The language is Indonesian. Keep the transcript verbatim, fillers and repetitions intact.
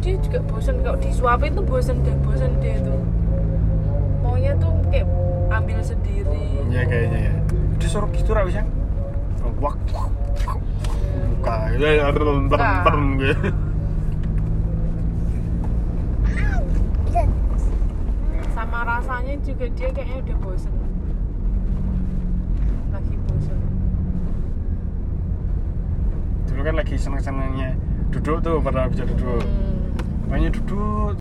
dia juga bosan, kalau disuapin tuh bosan deh, bosan dia tuh maunya tuh kayak ambil sendiri. Iya kayaknya ya. Disuruh gitu ra bisa. Wak buka ya berem gitu. Sama rasanya juga dia kayaknya udah bosan, lagi bosan. Dulu kan lagi seneng-senengnya duduk tuh, pada bisa duduk. Hmm. Banyak duduk